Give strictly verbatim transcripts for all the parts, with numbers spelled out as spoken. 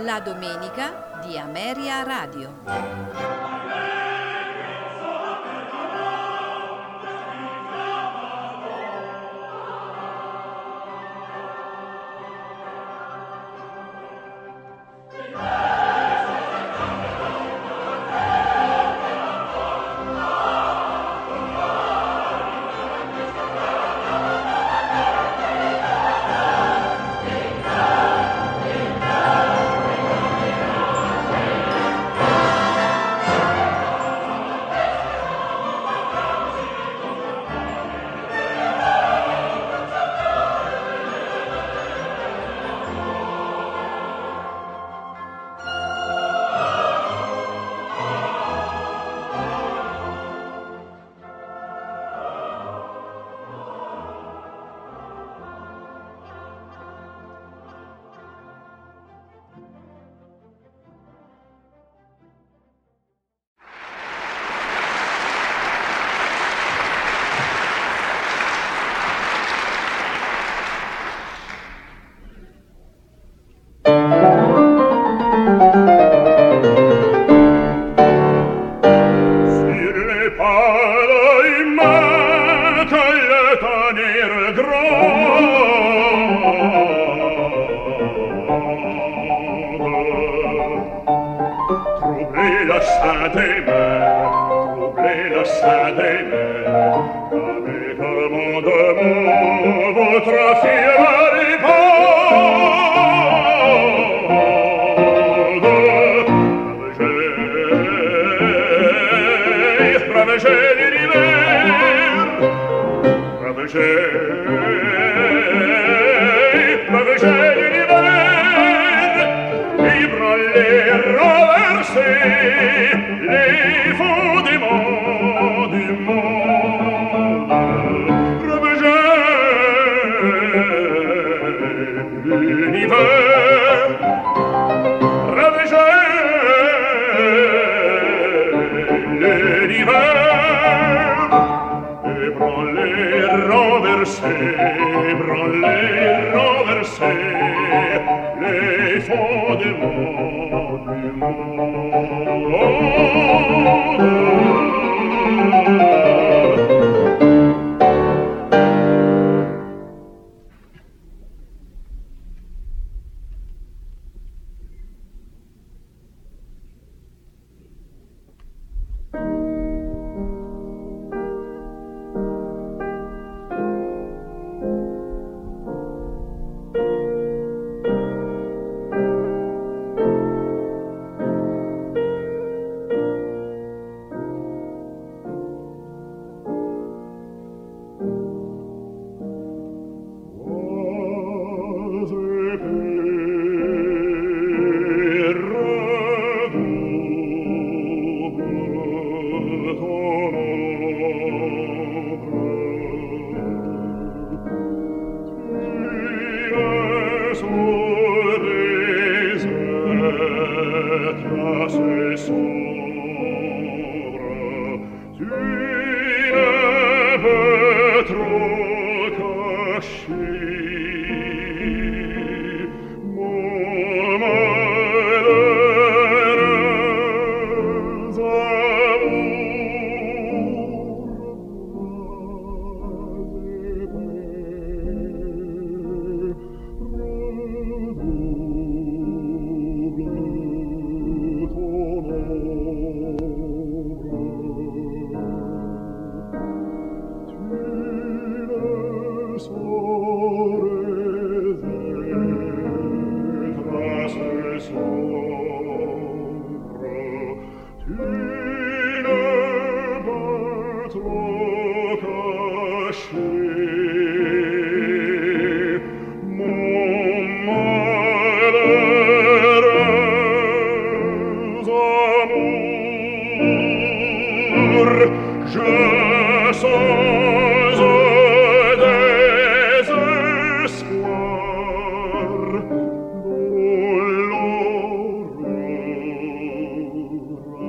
La domenica di Ameria Radio.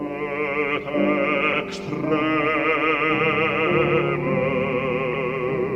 Extreme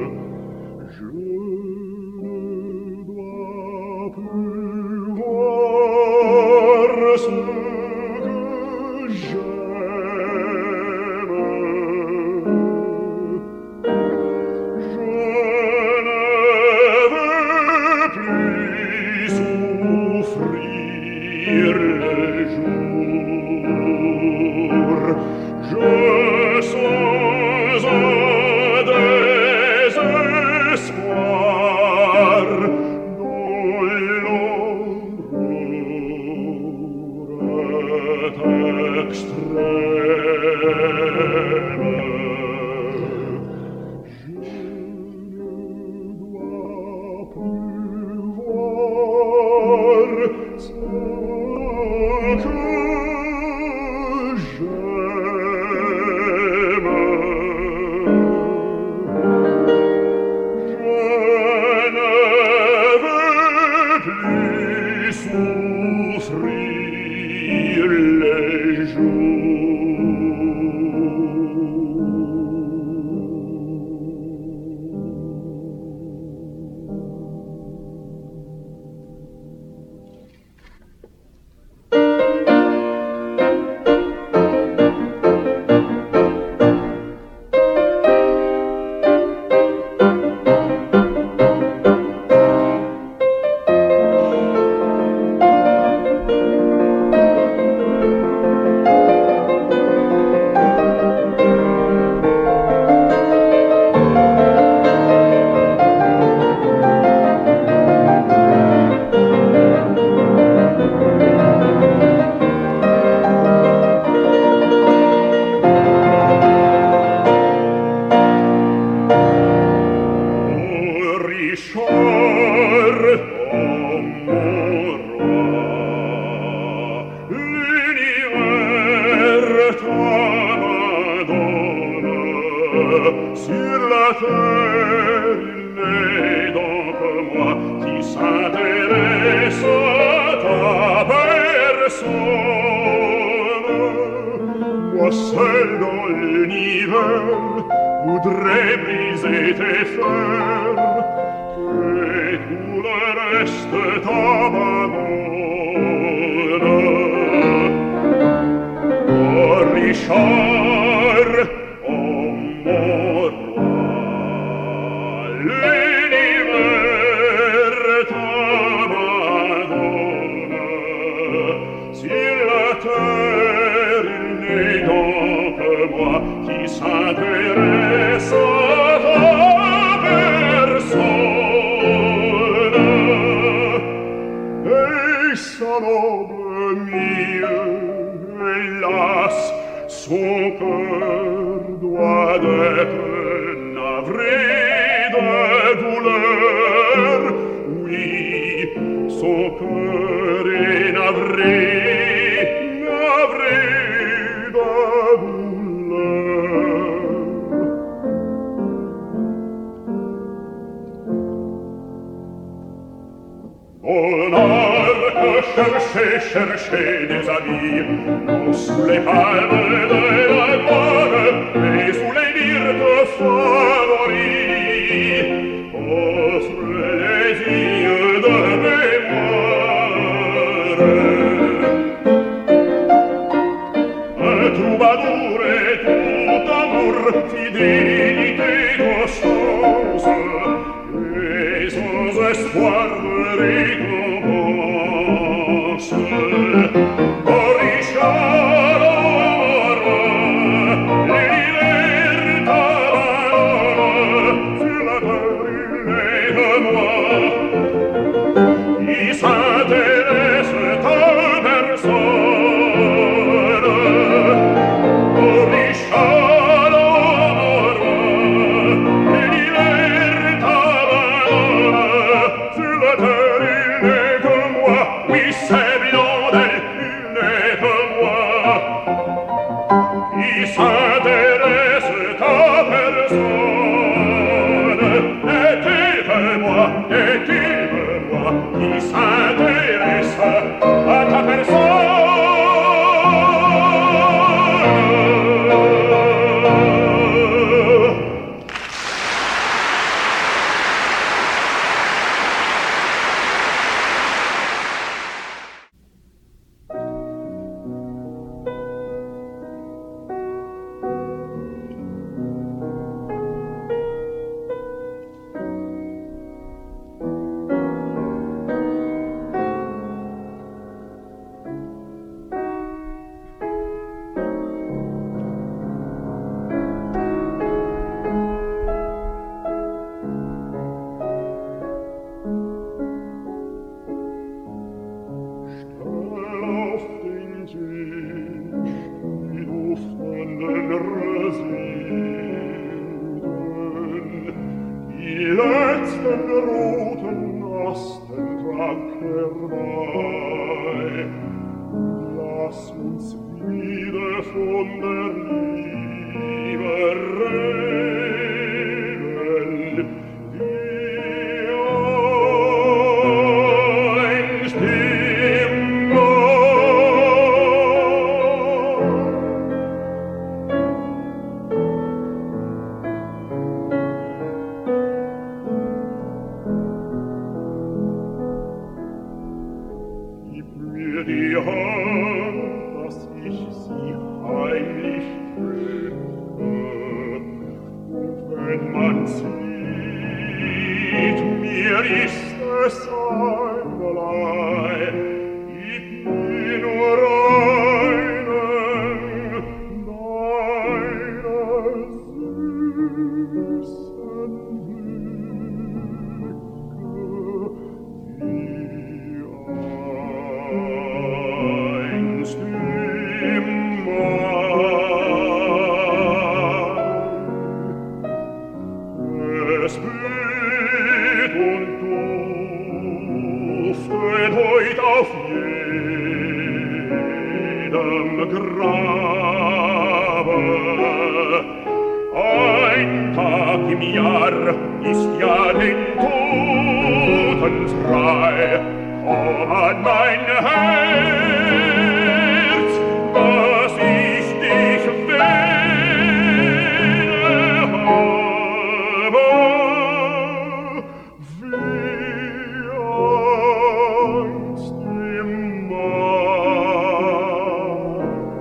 terre il n'est donc moi qui s'intéresse à ta personne. Moi seul dans l'univers voudrais briser tes fers, et tout le reste t'abandonne. Oh Richard, oh mon roi, l'univers t'abandonne. Sur la terre il n'est donc que moi qui s'intéresse à ta personne. Et sa noble milieu, hélas, son cœur doit être navré de douleur. Oui, son cœur est navré, navré de douleur. Monarque, cherchez, cherchez des amis, non sous les palmes de la gloire, mais sous les myrtes favoris, offre les yeux de mémoire. Un troubadour est tout amour, fidélité d'innocence, et sans espoir de récompense. Oh Richard, oh roi, l'univers t'abandonne. Sur la terre il n'est que moi qui s'intéresse à ta personne. Oh Richard, oh roi, l'univers t'abandonne. Sur la terre il n'est que moi, oui c'est Blondel, il n'est que moi qui s'intéresse à ta personne. N'est-il que moi, n'est-il que moi qui s'intéresse à ta personne? Grabe ein Tag im Jahr ist ja den Toten frei. Komm an mein Herz, dass ich dich wähle habe, wie einst im Mai.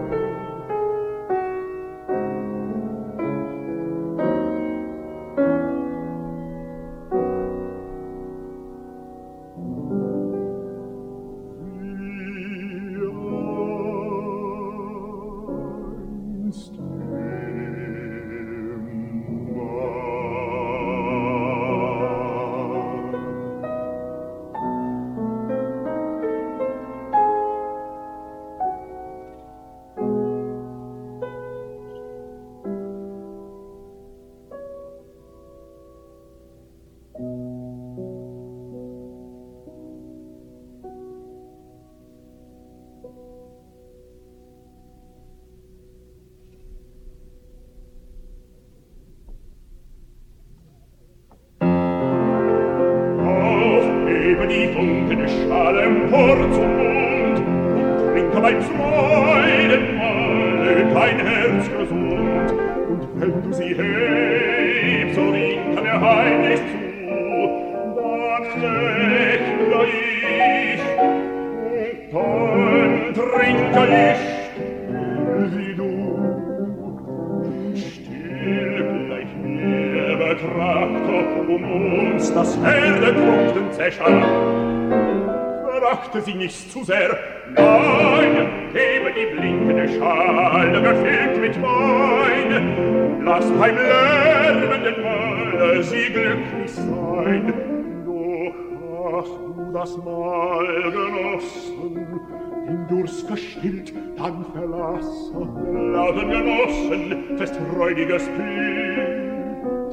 Aufhebe die Funken Schale empor zum Mund und trinke mein Freudenmahl, dein Herz gesund. Und wenn du sie hebst, so winke mir heimlich zu, dann lächle ich und dann trinke ich wie du. Still gleich mir betrachte um uns das Herdentrunken zerscharrt. Verachte sie nicht zu sehr, nein, gebe die blinkende Schale gefüllt mit Wein. Lass beim lärmenden Mahle sie glücklich sein. Doch hast du das Mahl genossen, den Durst gestillt, dann verlasse lauten Genossen fest freudiges Bild.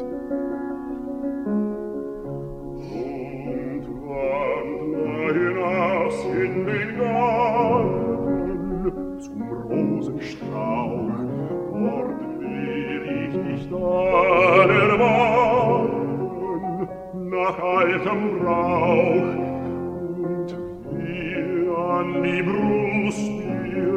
Und wandre hinaus in den Garten zum Rosenstrauch, dort will ich dich dann erwarten nach altem Brauch und will an die Brust dir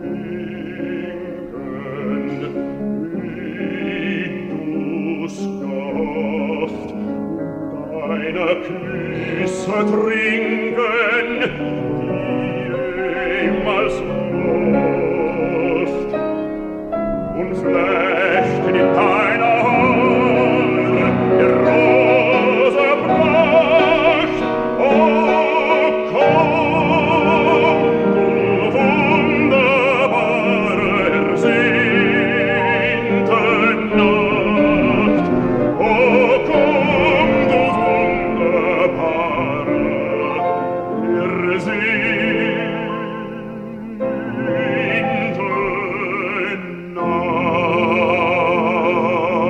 sinken, wie du's gehofft, deine Küsse trinken, die ehemals oft, und flechten in deiner Haare der Rose Pracht. Oh, komm, du wunderbare, ersehnte Nacht. Oh, komm, du wunderbare, ersehnte Nacht.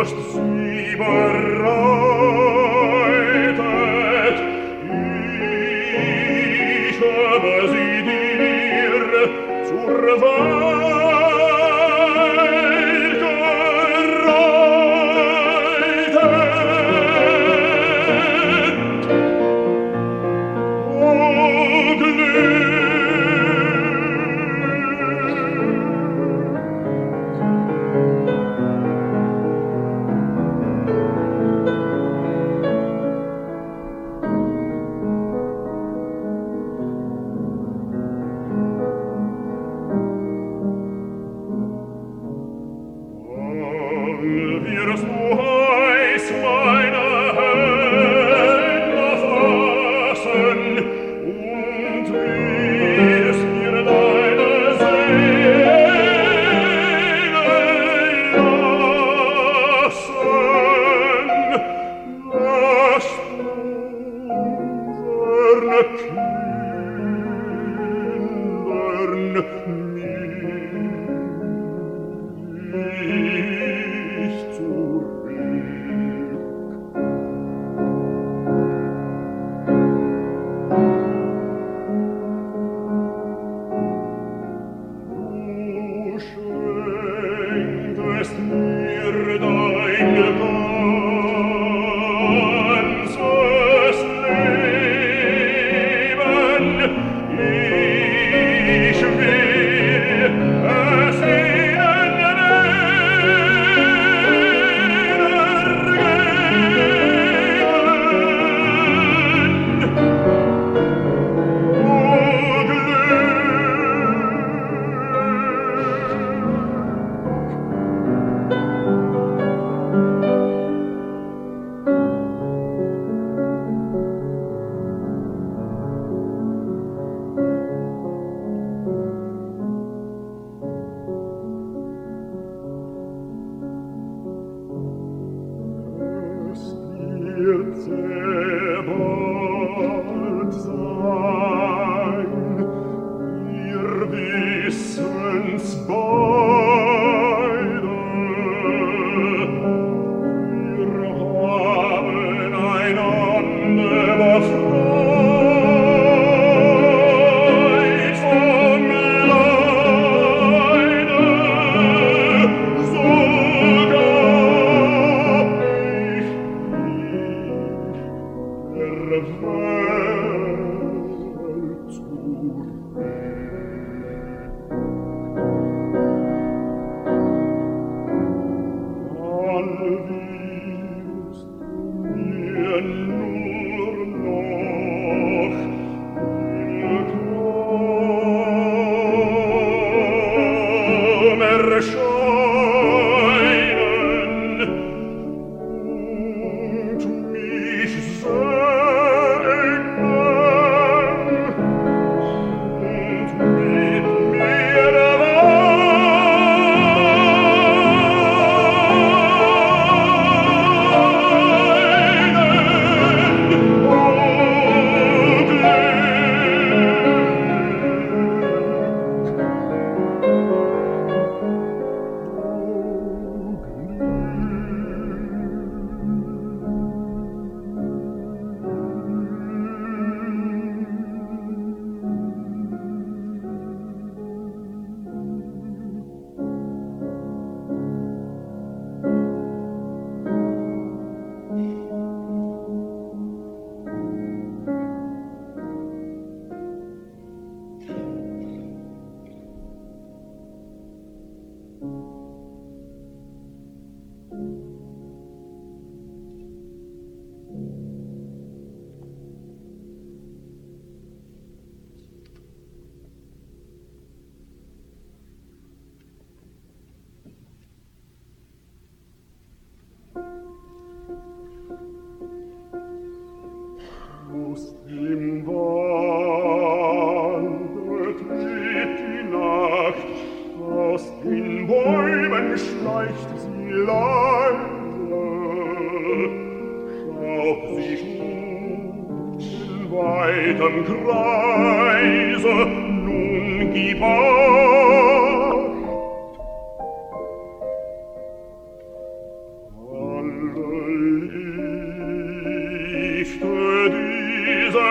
Lust sie bereitet, ich habe sie dir zur Wahl gereitet. O Glück!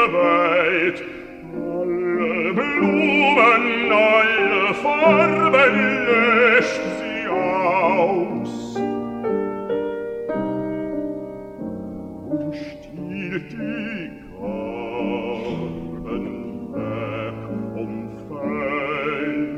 der Welt. Alle Blumen, alle Farben löscht sie aus. Und stiehlt die Garben weg vom Feld.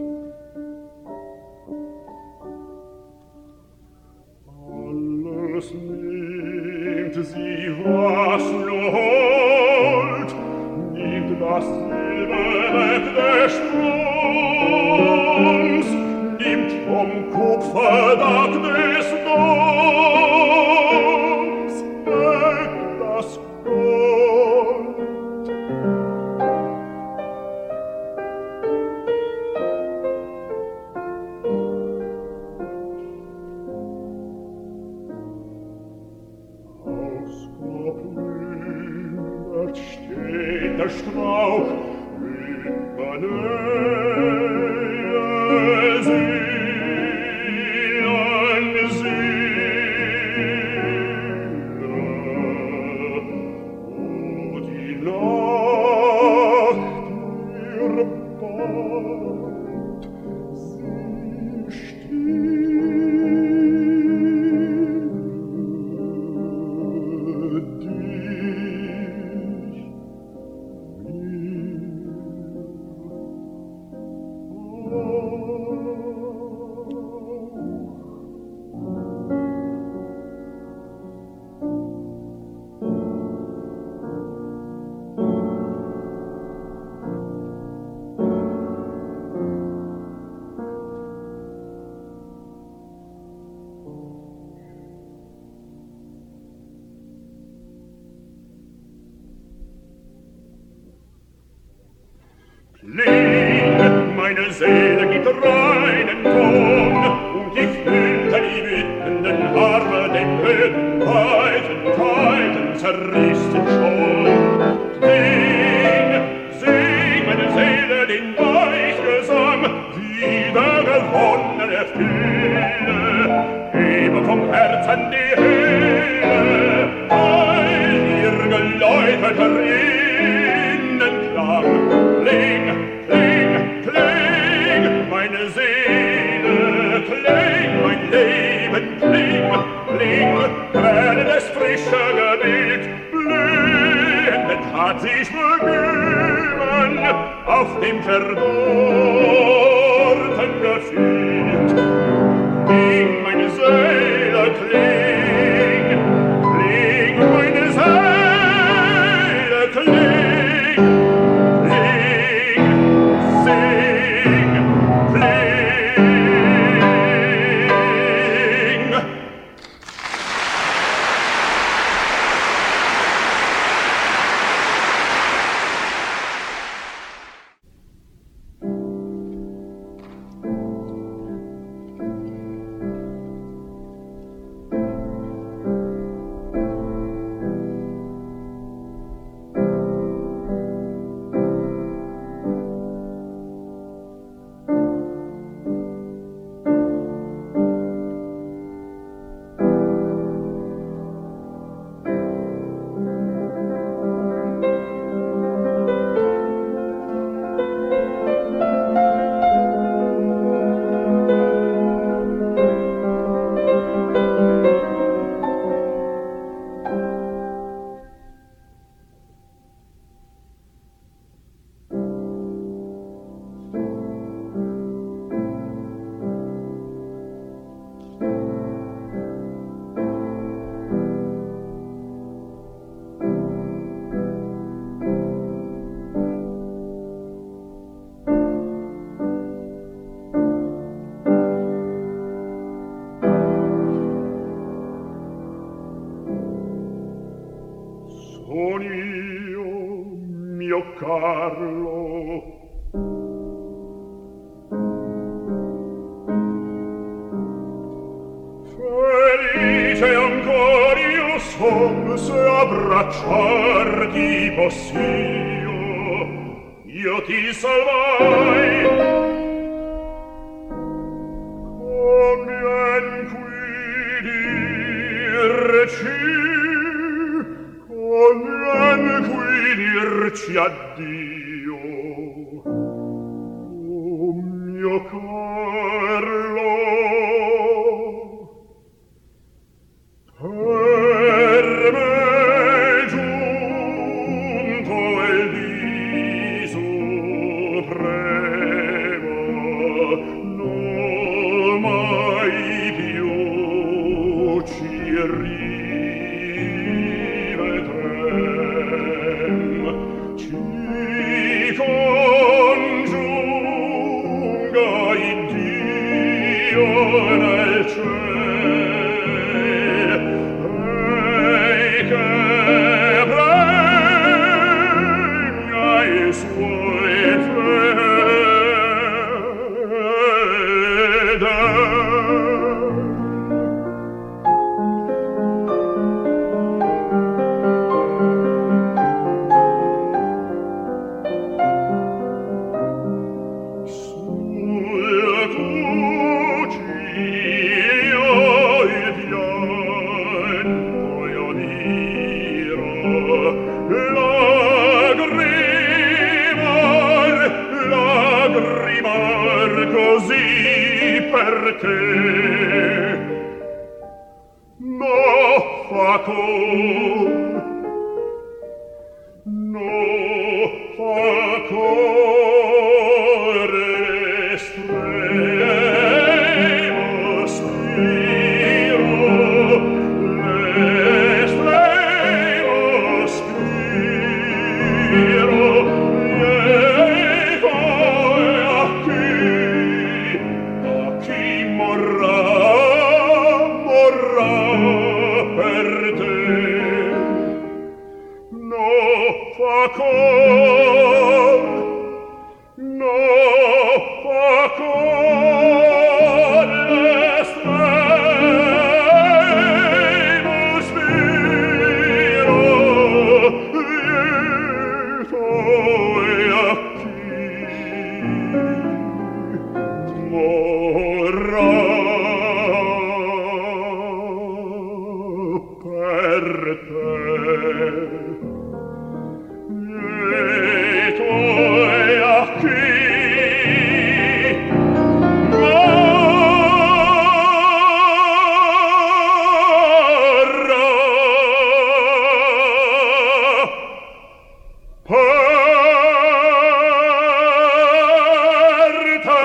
Alles nimmt sie, was nur holt, nimmt das Silber weg des Stroms, nimmt vom Kupferdach des Doms weg das Gold. Ausgeplündert steht der Strauch über Nähe Seelen, Seele. O die Nacht, ihr Bad, sie still dich Kling, meine Seele gibt reinen Ton, und ich fühlte die wütenden Arme den Höhen weiten, weiten zerrissen schon. Sing, sing, meine Seele den Weichgesang, wieder gewonnene Fülle, hebe vom Herzen die Höhe, heil ihr geläuterter Innenklang. Kling, kling, kling, meine Seele, kling, mein Leben, kling, kling, werde das frische Gebiet, blühend hat sich begeben, auf dem verdorrten Gefühl. Kling, meine Seele, kling, kling, meine Seele, kling. Son io, mio Carlo, felice ancor io son se abbracciarti poss'io, io ti salvai. Convien qui dirci, convien qui dirci addio. Oh mio Carlo, per me giunto il dì supremo, non mai più ci rivedrem, ci congiunga Iddio nel ciel, e che pregna i suoi fedeli. Perché no fa cor, no fa cor l'estremo spiro, l'estremo spiro, lieto e a chi morrà, morrà per te. No fa cor, no fa cor l'estremo spiro, lieto e a chi morrà per te. Lieto e a chi morrà per te.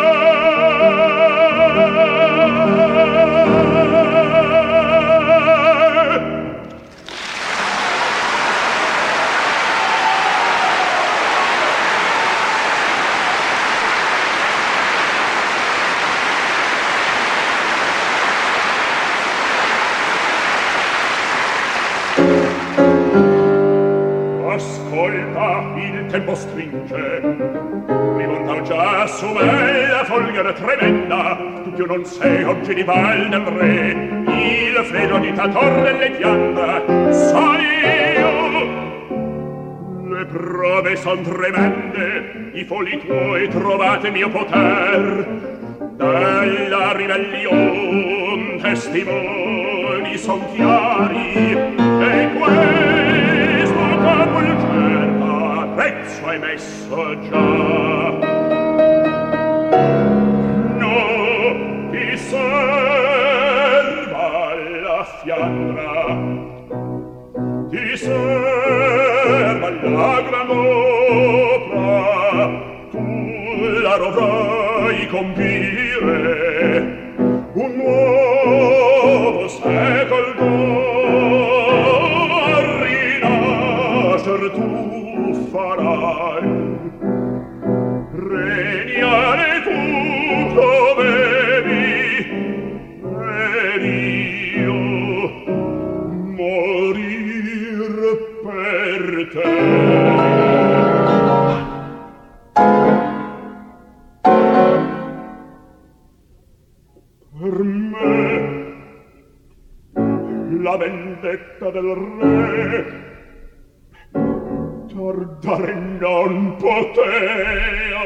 Ascolta, il tempo stringe, rimonta già su me la folgore tremenda, tu più non sei oggi di val del re, il freddo dittatore delle Fiandre, sono io. Le prove son tremende, i folli tuoi trovate mio poter, della ribellion testimoni son chiari, e questo capo il cerca, prezzo hai messo già. No, ti serva la Fiandra, ti serva la gran opera, tu la dovrai compire, un nuovo secol d'or rinascer tu farai, regnare tu dovevi, ed io morir per te. Per me la vendetta del re tardare non potea.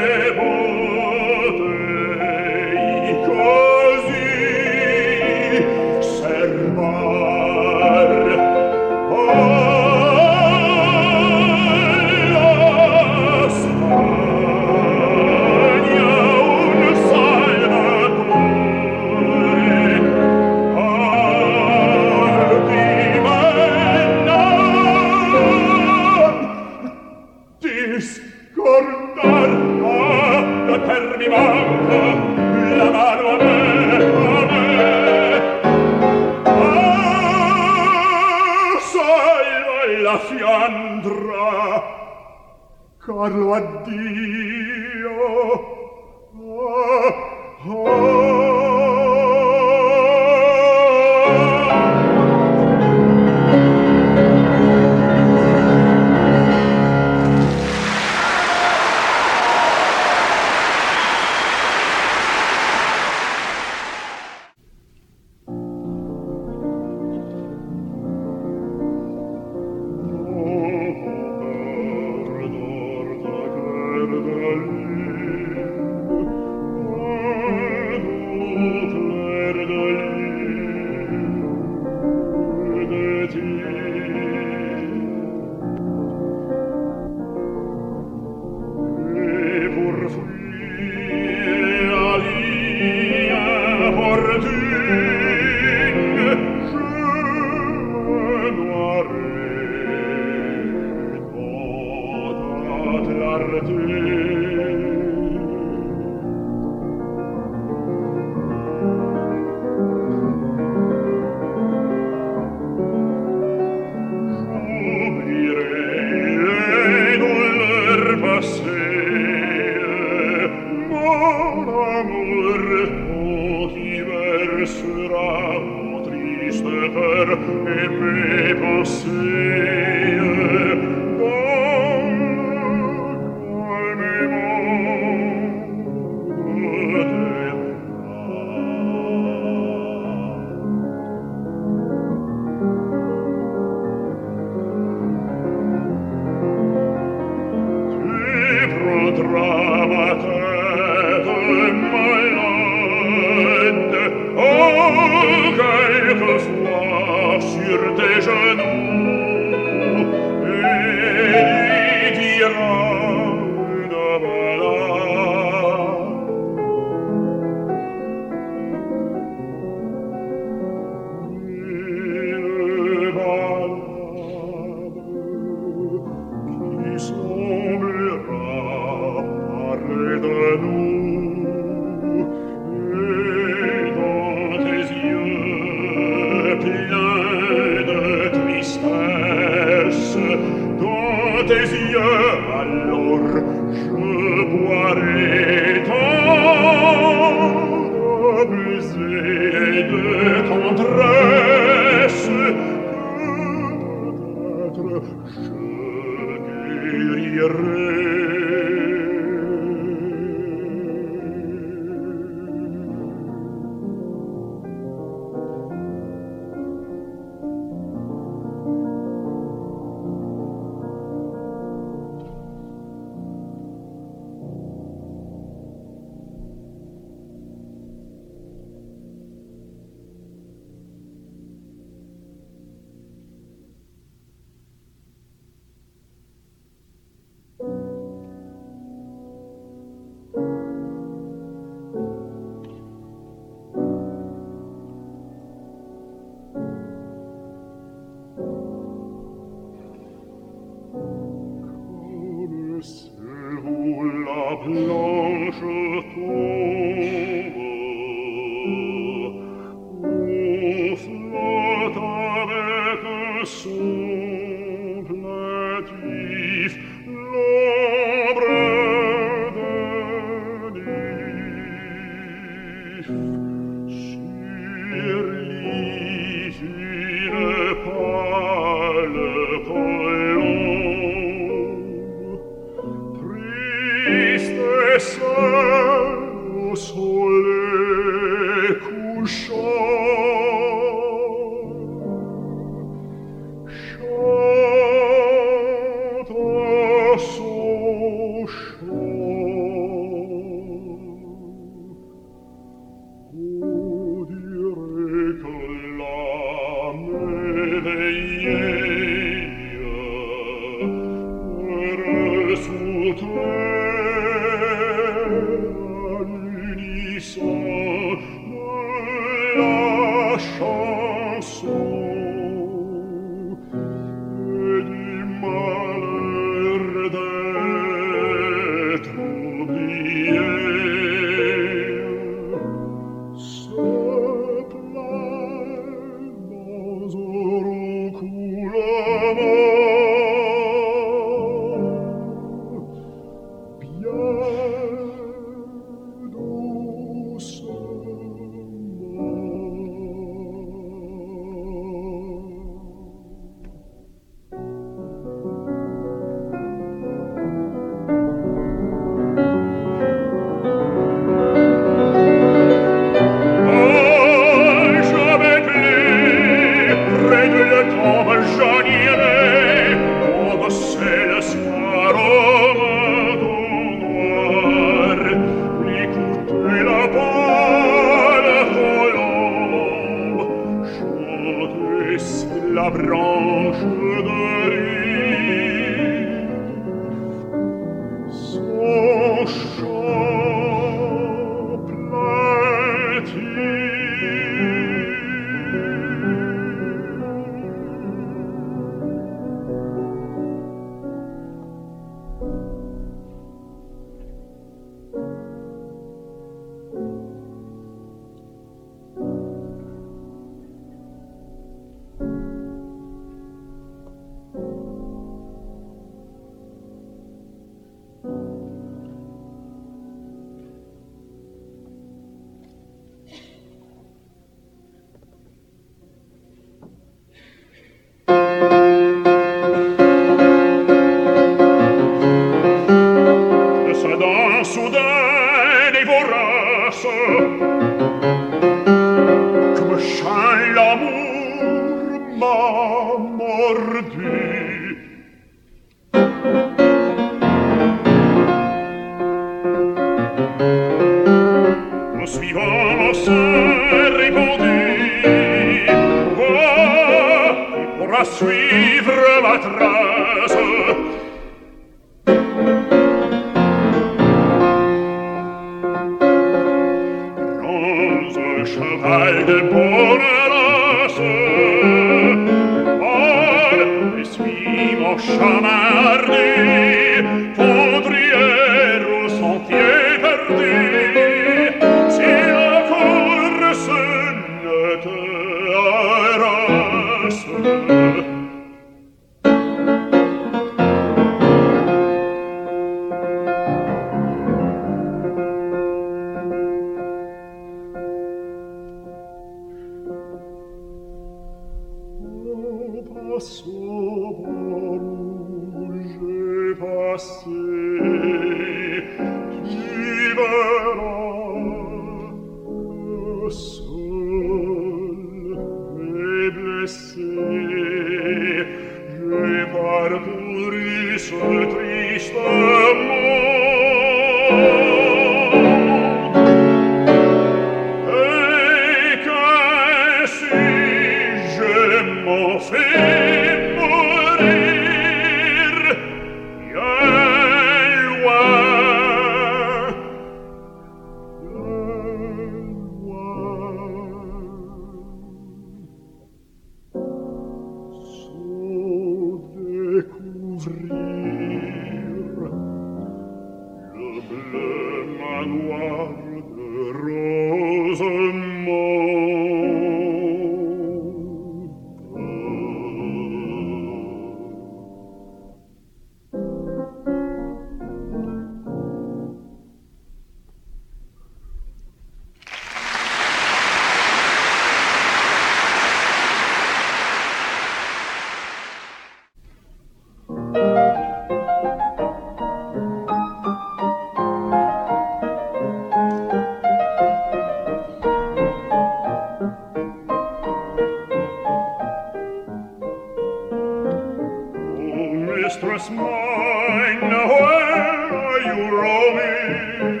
mistress mine, where are you roaming?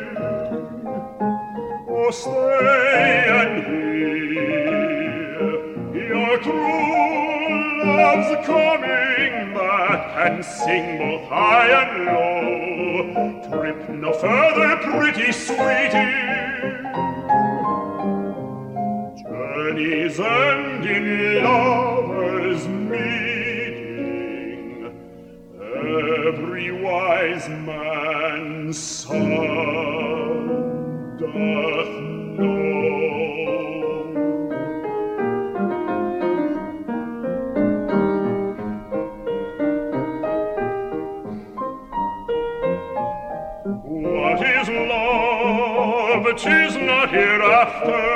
Oh, stay and hear your true love's coming back and sing both high and low. Trip no further, pretty sweetie. Journeys end in lovers' meeting. Every wise man's son doth know. What is love? 'Tis not hereafter.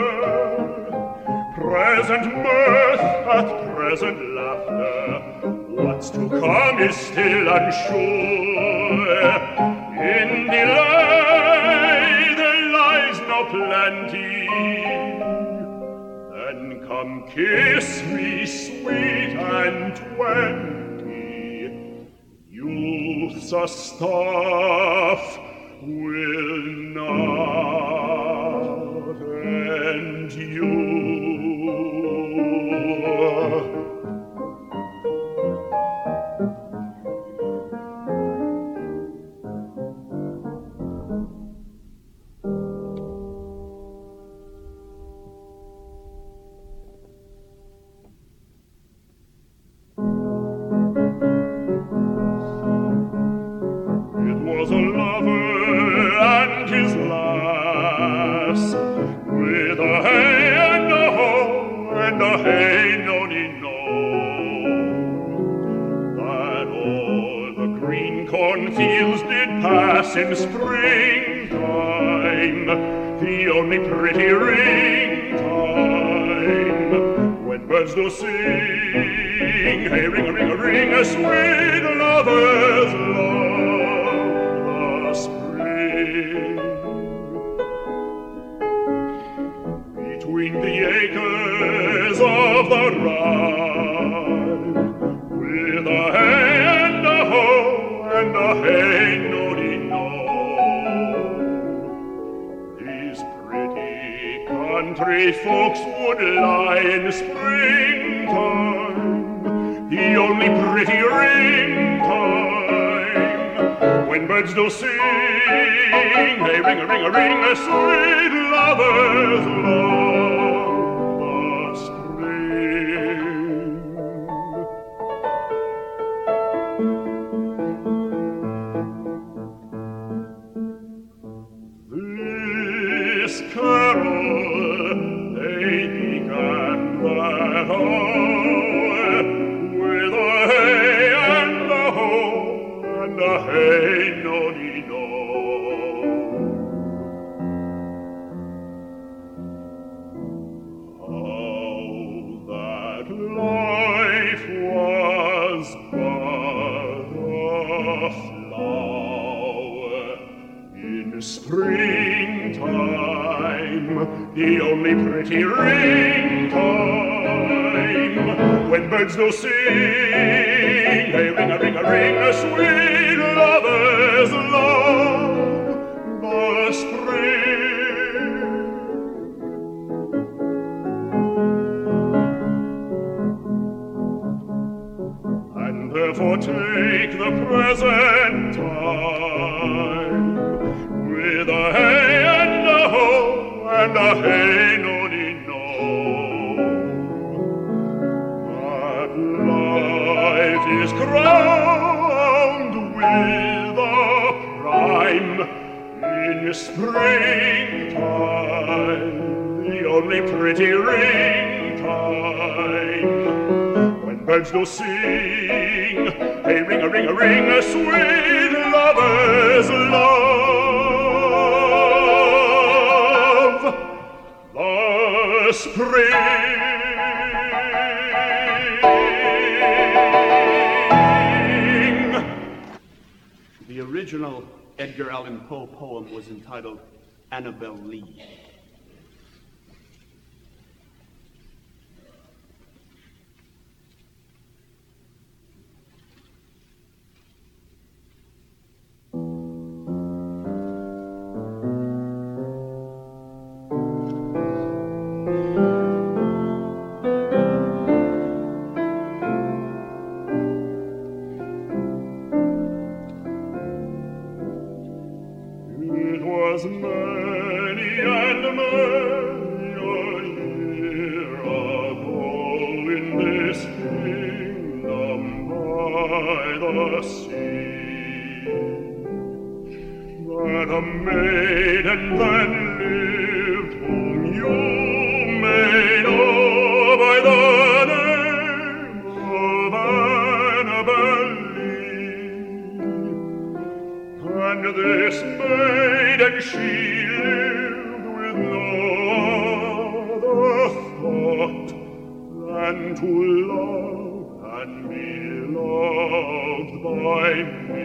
Present mirth hath present laughter. What's to come is still unsure. In delay there lies no plenty. Then come kiss me sweet and twenty. Youth's a stuff will not end you. Was a lover and his lass, with a hey and a ho and a hey nonny no, that o'er the green cornfields did pass in springtime, the only pretty ring time, when birds do sing, hey ring a ring a ring a sweet lover's love. Between the acres of the rye, with a hey and a ho and a hey noddy no, these pretty country folks would lie in springtime, the only pretty ring time, when birds do sing, hey ring a ring a ring a sweet lover's love, the spring. This carol they began that hour, with a hey and a ho and a hey noddy no. How that life was but a flower in springtime, the only pretty ring time, when birds do sing, hey ring a ring a ring a sweet lover's love, the spring. And therefore take the present time, with a hey and a ho and a hey noddy no, that life is crowned with a prime in springtime, the only pretty ring time, when birds do sing, hey ring a ring a ring a sweet lover's love, the spring. The original Edgar Allan Poe poem was entitled Annabel Lee. kingdom by the sea. That a maiden then lived whom you may know by the name of Annabel Lee. And this maiden she lived with no other thought than to love and be loved by me.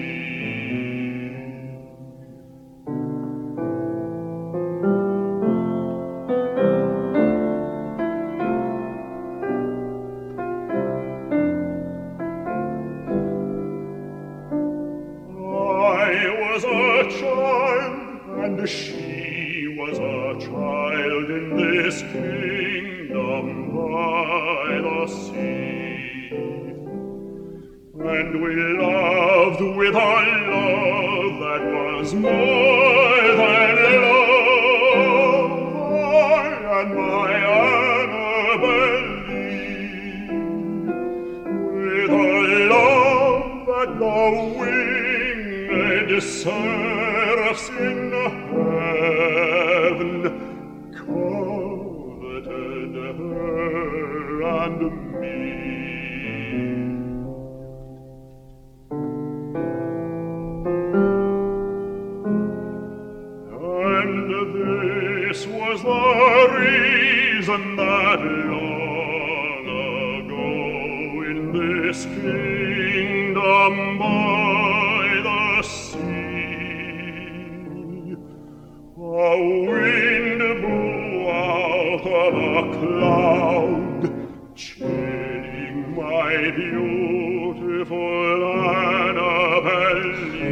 She was a child in this kingdom by the sea, and we loved with a love that was more than love. I and my Annabel Lee, with a love that the winged seraphs in heaven coveted her and me. And this was the reason that long ago in this kingdom by the sea, a wind blew out of a cloud, chilling my beautiful Annabel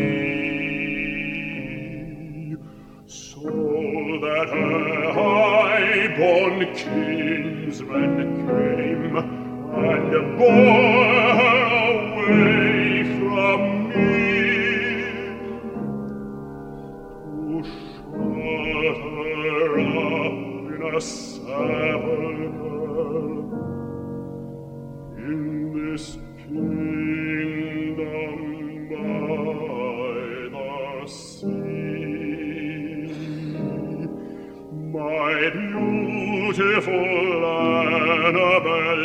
Lee, so that her high-born kinsmen came and bore her away from me. A sepulchre in this kingdom by the sea. My beautiful Annabel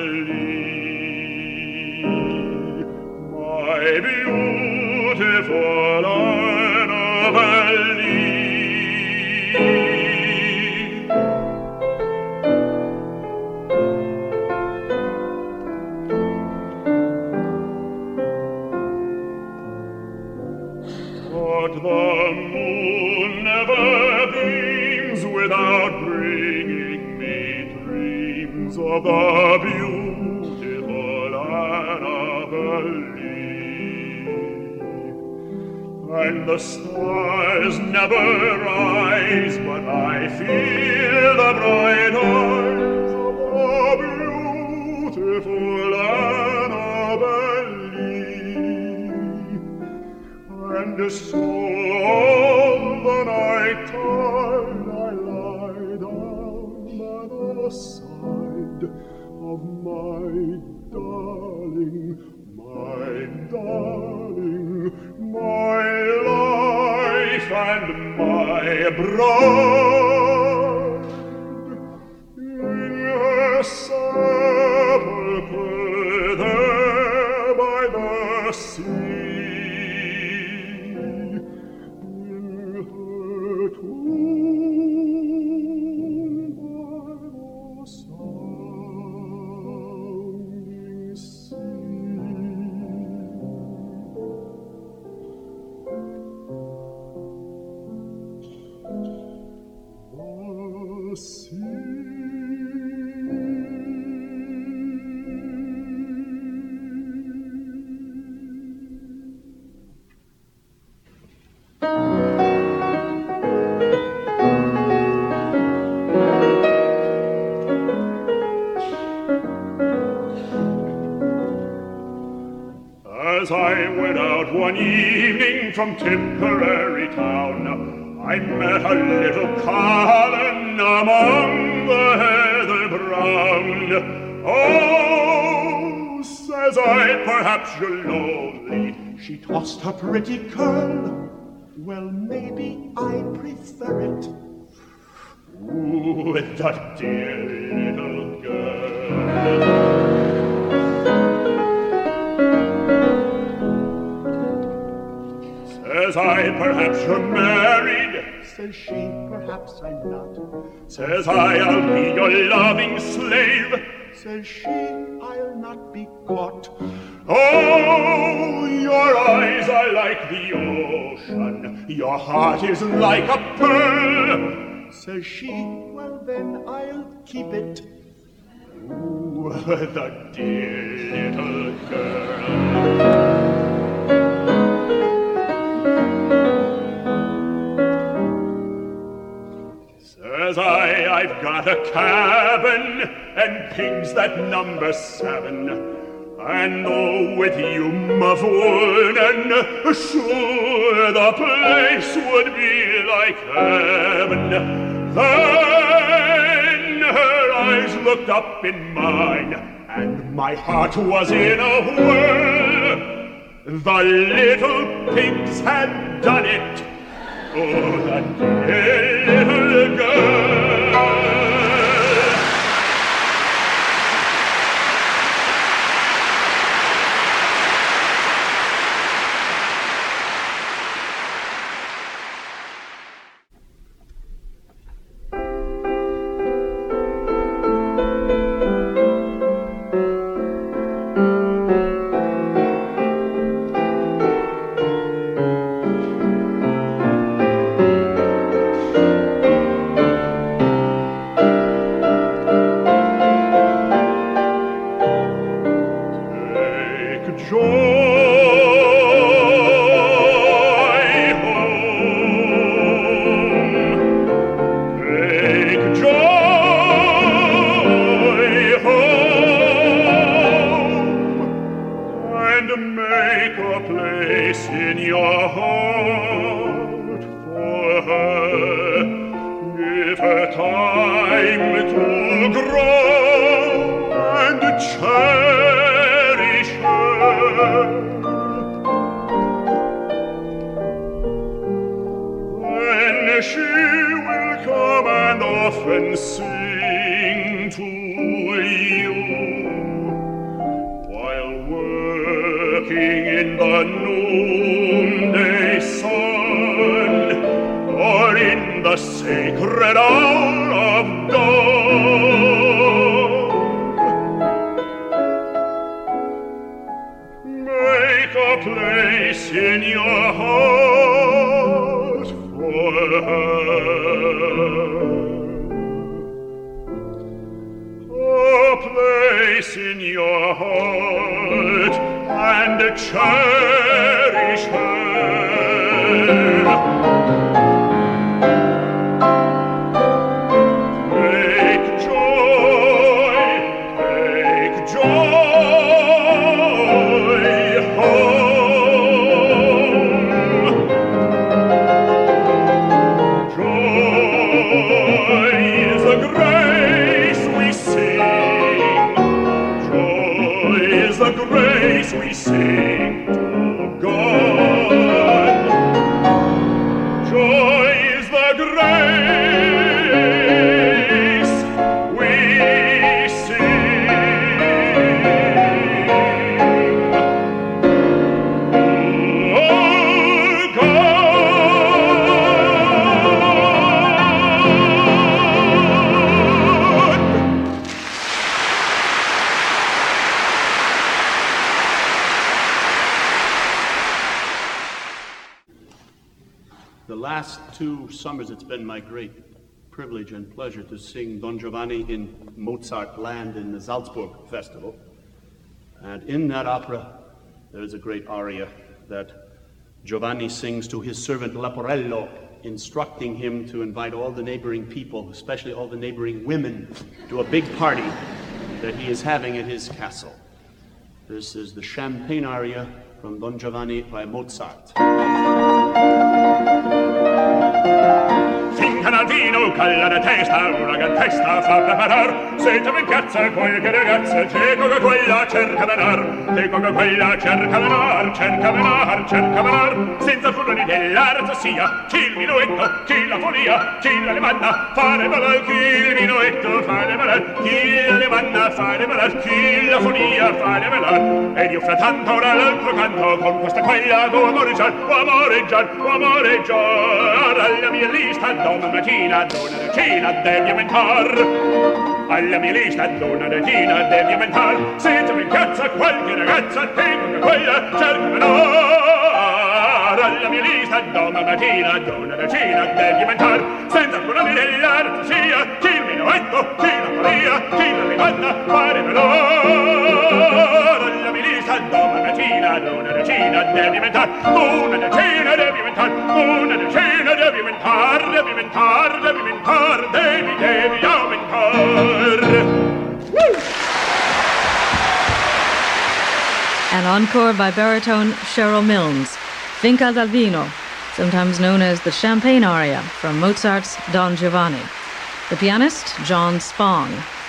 Lee, my beautiful Annabel Lee. The moon never beams without bringing me dreams of the beautiful Annabel Lee. And the stars never rise, but I feel the bright eyes of the beautiful Annabel Lee. And so all the night time I lie down by the side of my darling, my darling, my life and my bride. In her sepulchre there by the sea, as I went out one evening from Tipperary town, I met a little Colin among the heather brown. Oh, I perhaps you're lonely. She tossed her pretty curl. Well, maybe I prefer it. Ooh, that dear little girl. Says I, perhaps you're married. Says she, perhaps I'm not. Says I, I'll be your loving slave. Says she, I'll not be caught. Oh, your eyes are like the ocean. Your heart is like a pearl. Says she, well then I'll keep it. Ooh, the dear little girl. Says I, I've got a cabin and pigs that number seven. And oh, with you, my Vernon, sure the place would be like heaven. Then her eyes looked up in mine, and my heart was in a whirl. The little pigs had done it. Oh, that dear little girl. Two summers it's been my great privilege and pleasure to sing Don Giovanni in Mozart land in the Salzburg Festival. And in that opera, there's a great aria that Giovanni sings to his servant Leporello, instructing him to invite all the neighboring people, especially all the neighboring women, to a big party that he is having at his castle. This is the Champagne aria from Don Giovanni by Mozart. Think canalvino, calla la testa, una gran testa fa preparar. Sentami in piazza qualche ragazza, cieco che quella cerca d'anar, cieco che quella cerca d'anar, cerca d'anar, cerca d'anar, senza furore dell'arte sia, chi il minuetto, chi la folia, chi la levanna, fare balar, chi il minuetto, fare balar, chi la levanna, fare balar, chi la folia, fare balar. Ed io frattanto ora l'altro canto, con questa quella go amoreggiar, go amoreggiar, go amoreggiar, alla mia lista domattina, donna regina devi aumentar, alla mia lista donna regina devi aumentar, se tu in piazza qualche ragazza, tengo che quella cerca d'anar, alla mia lista domattina, donna regina devi aumentar, senza curare dell'arte sia, chi il minuetto, chi la folia, chi la levanna, fare veloce, alla mia lista domattina, donna regina devi aumentar, una decina devi aumentar, una decina devi aumentar, devi aumentar, devi aumentar, devi, devi aumentar. Woo! An encore by baritone Cheryl Milnes, Finca dal Vino, sometimes known as the Champagne aria from Mozart's Don Giovanni. The pianist, John Spong.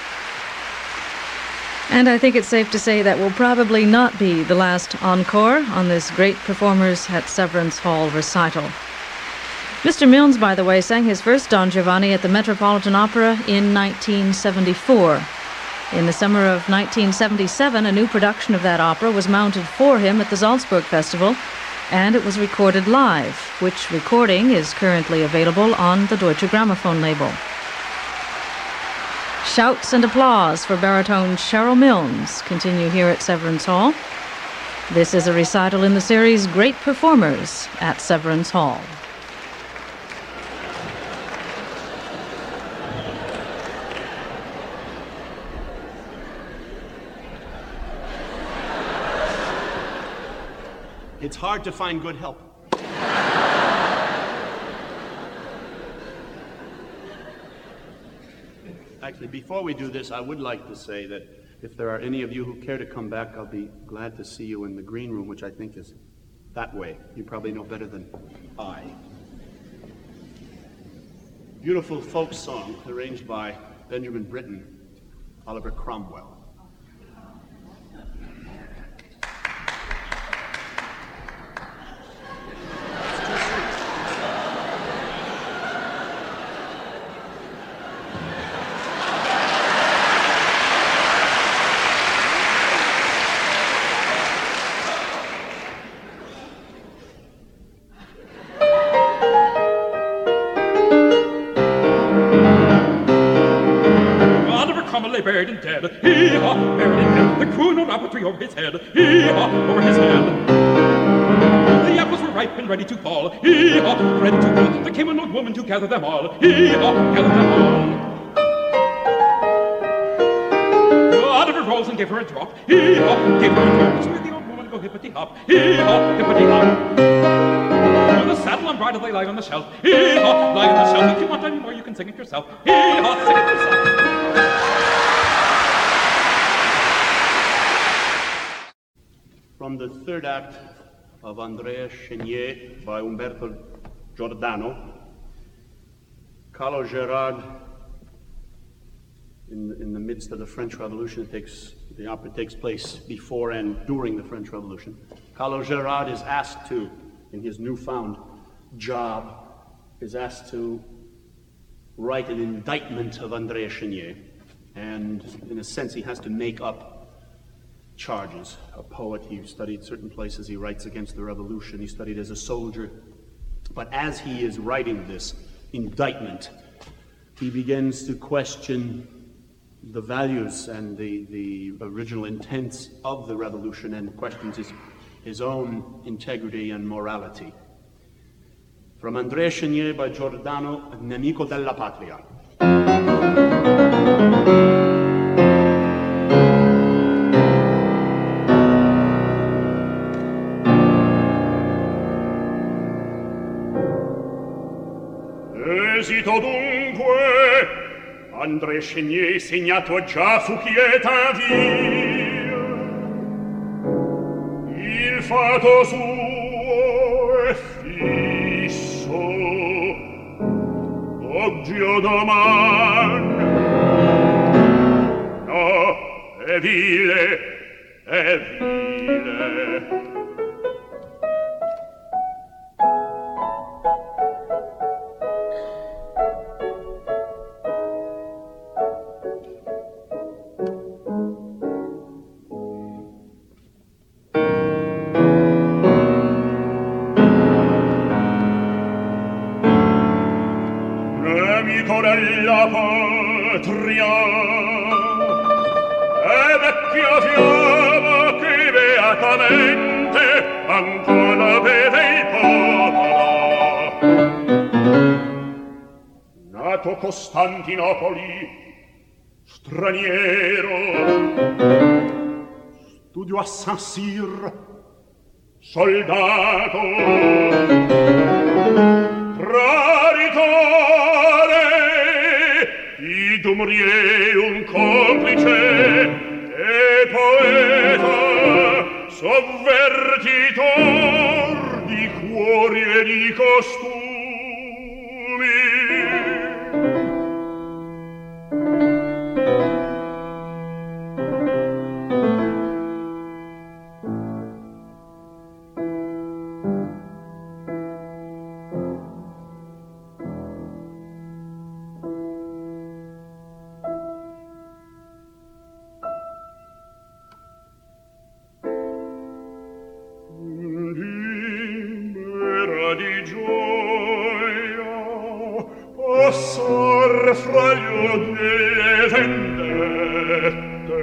And I think it's safe to say that will probably not be the last encore on this Great Performers at Severance Hall recital. Mister Milnes, by the way, sang his first Don Giovanni at the Metropolitan Opera in nineteen seventy-four. In the summer of nineteen seventy-seven, a new production of that opera was mounted for him at the Salzburg Festival, and it was recorded live, which recording is currently available on the Deutsche Grammophon label. Shouts and applause for baritone Cheryl Milnes continue here at Severance Hall. This is a recital in the series Great Performers at Severance Hall. It's hard to find good help. Actually, before we do this, I would like to say that if there are any of you who care to come back, I'll be glad to see you in the green room, which I think is that way. You probably know better than I. Beautiful folk song arranged by Benjamin Britten, Oliver Cromwell. Buried and dead, hee-haw, buried and dead, the crew no rappelry over his head, hee-haw, over his head. The apples were ripe and ready to fall, hee-haw, ready to fall. There came an old woman to gather them all, hee-haw, gather them all. Oliver rose and gave her a drop, hee-haw, gave her a drop. So the old woman go hippity-hop, hee-haw, hippity-hop. With the saddle and bridle they lie on the shelf, hee-haw, lie on the shelf. If you want any more, you can sing it yourself, hee-haw, sing it yourself. From the third act of Andrea Chenier by Umberto Giordano, Carlo Gerard, in, in the midst of the French Revolution, it takes, the opera takes place before and during the French Revolution. Carlo Gerard is asked to, in his newfound job, is asked to write an indictment of Andrea Chenier, and in a sense he has to make up charges. A poet, he studied certain places, he writes against the revolution, he studied as a soldier. But as he is writing this indictment, he begins to question the values and the, the original intents of the revolution and questions his, his own integrity and morality. From Andrea Chenier by Giordano, Nemico della Patria. Esito dunque, Andrea Chenier segnato già fu quieta via. Il fato suo è fisso, oggi o doman. No, è vile, è vile. Della patria e vecchia fiamma che beatamente ancora vede il popolo. Nato Costantinopoli, straniero, studio a Saint-Cyr, soldato, traditore, Idumrier un complice e poeta, sovvertitor di cuori e di costumi. Fra gli delle vendette,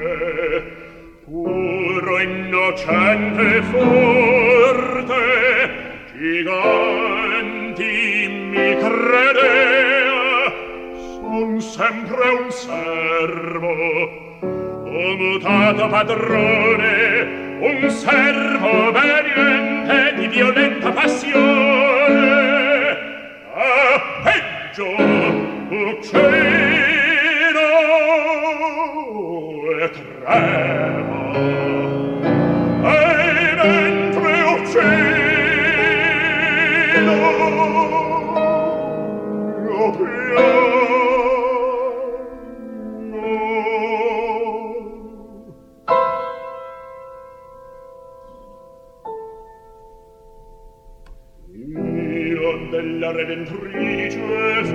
puro innocente forte, giganti mi credea, son sempre un servo, ho mutato padrone, un servo obbediente di violenta passione, a peggio uccido e tremo, e mentre uccido io piango. Io della Redentrice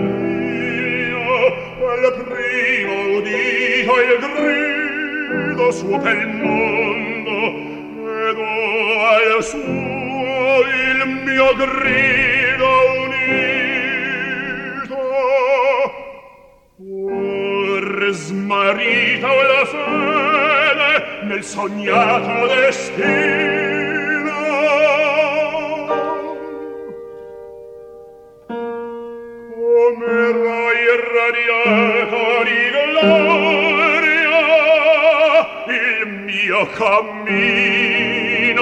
al primo udito il grido suo per il mondo ed al suo il mio grido unito or smarrita la fede nel sognato destino. Come irradiato di gloria il mio cammino.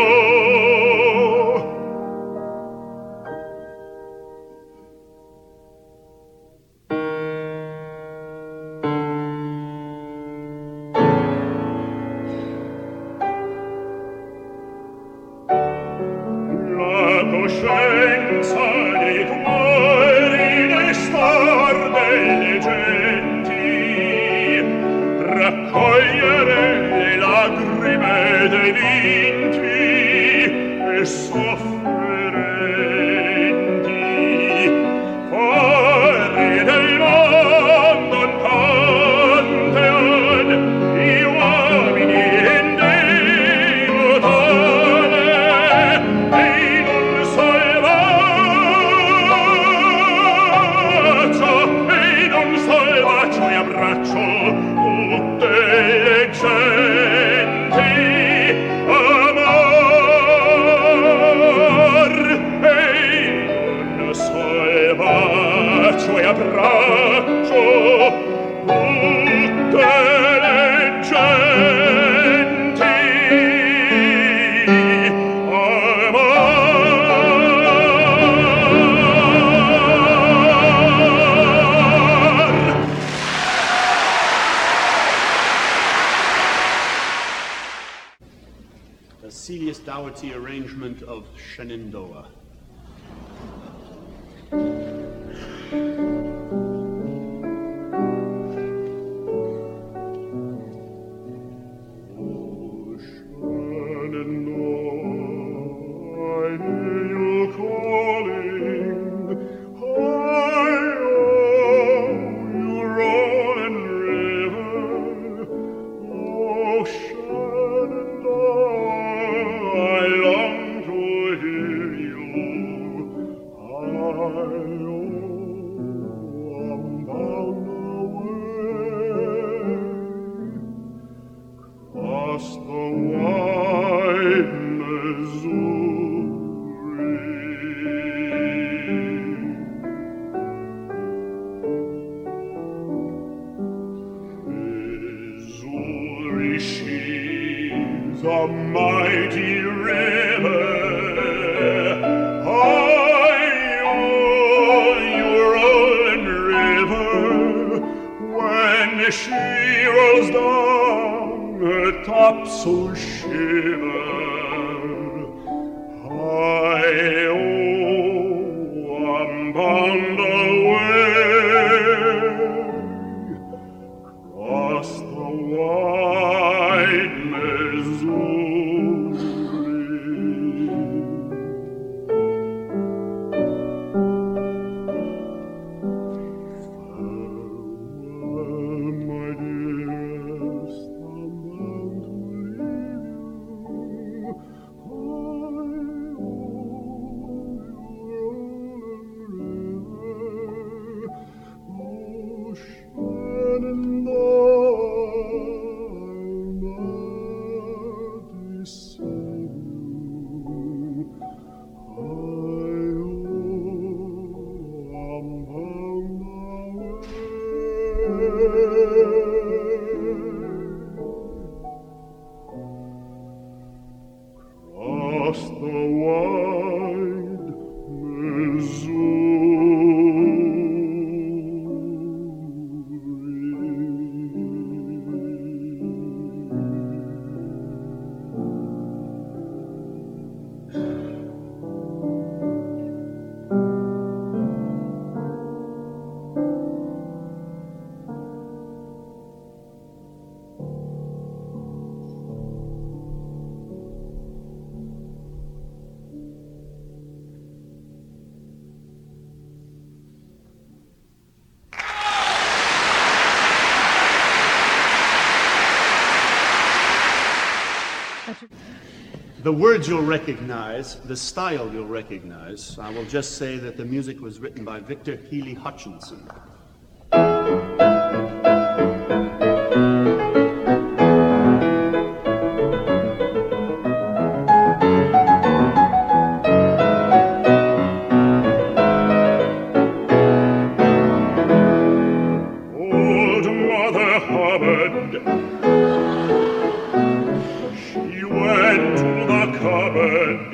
La coscienza dei cuori dei star delle genti, raccogliere le lagrime dei vinti e sofferenti, fuori del mondo un pantheon di uomini in Dio tale e in un salvaccio, e in un salvaccio e abbraccio tutte le genti, amor, e in un salvaccio e abbraccio tutte le genti, amor. The Celius Dougherty arrangement of Shenandoah. mighty river. Oh, you rolling river, when she rolls down, her top so shiver. I, oh, I'm bound away across the wide Missouri. Farewell, my dearest, I'm bound to leave you. Across the wide The words you'll recognize, the style you'll recognize. I will just say that the music was written by Victor Healy Hutchinson. Old Mother Hubbard, she went to the cupboard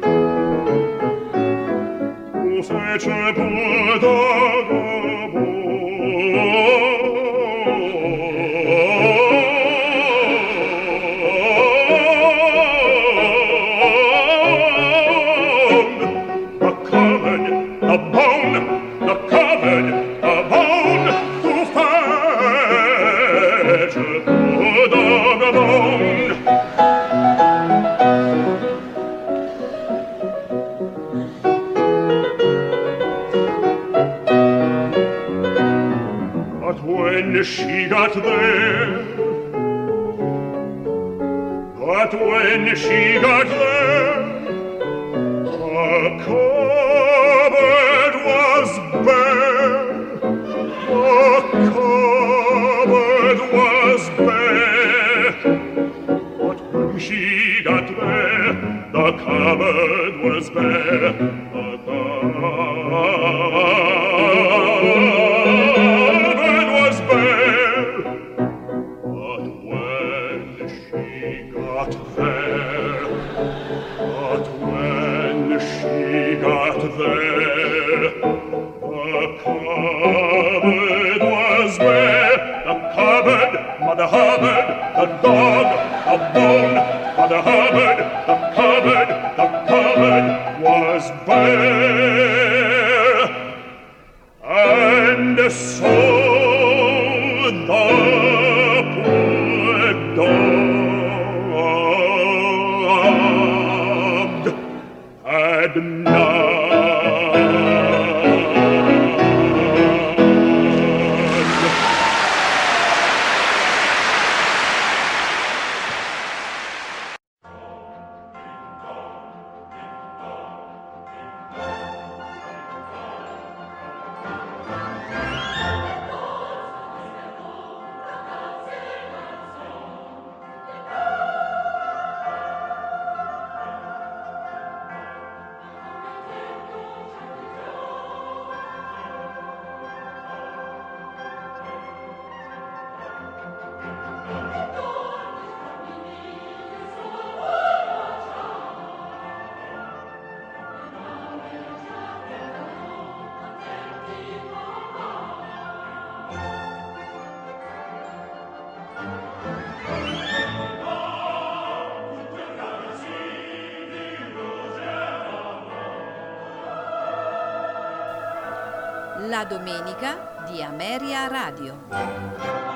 to fetch a bulldog a bone. The cupboard, the bone, the cupboard, the bone, to fetch a bulldog a bone. When she got there, but when she got there, the cupboard was bare. The cupboard was bare. But when she got there, the cupboard was bare. The cupboard Mother Hubbard, the dog, the bone, Mother Hubbard, the cupboard, the cupboard was bare. And so the poor dog had none. La domenica di Ameria Radio.